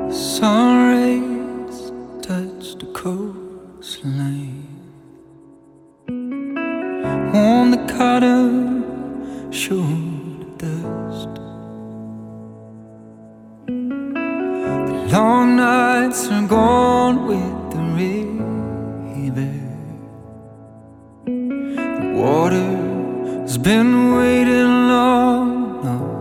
Sun rays touch the coastline, warm the cotton, show the dust. The long nights are gone with the river. The water's been waiting long enough.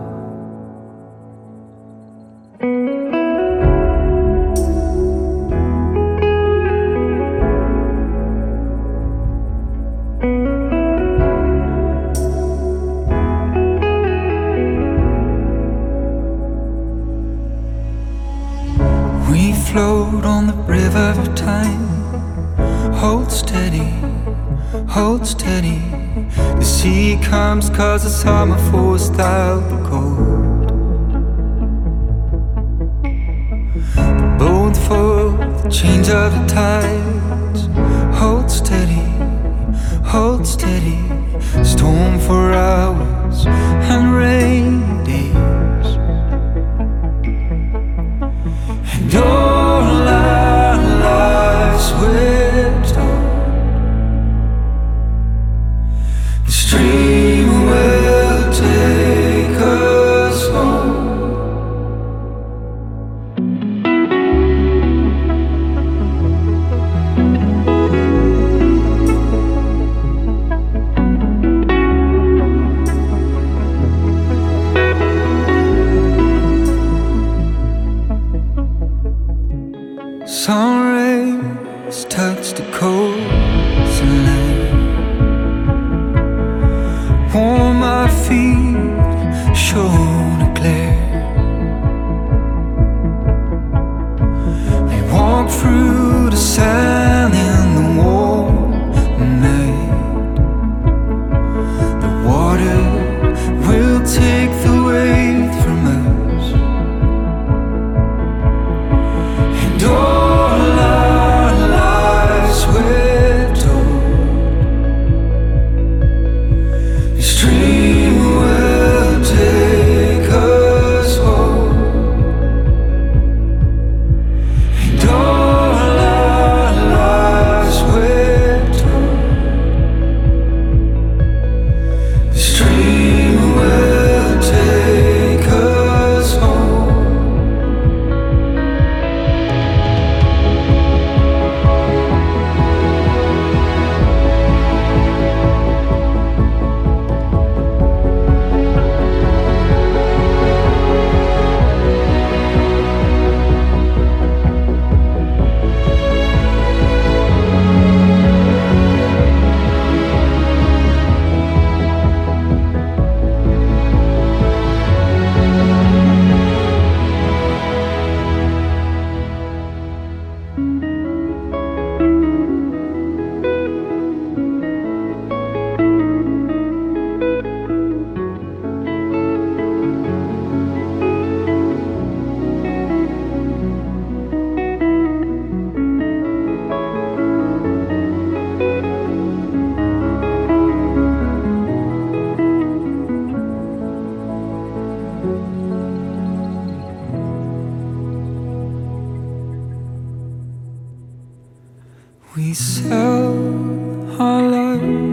We float on the river of time. Hold steady, hold steady. The sea comes 'cause the summer forced out the cold. The boat for the change of the tides. Hold steady, hold steady. Storm for hours and rain days. And all our lives we're told the stream will take us home. Sun rays touch the coastline, warm my feet, show the glare. We walk through the sand in the warm night. The water will take the weight from us. And all our lives we're told the stream will take us home. And all our lives we're told the stream will take us home. We sell our lives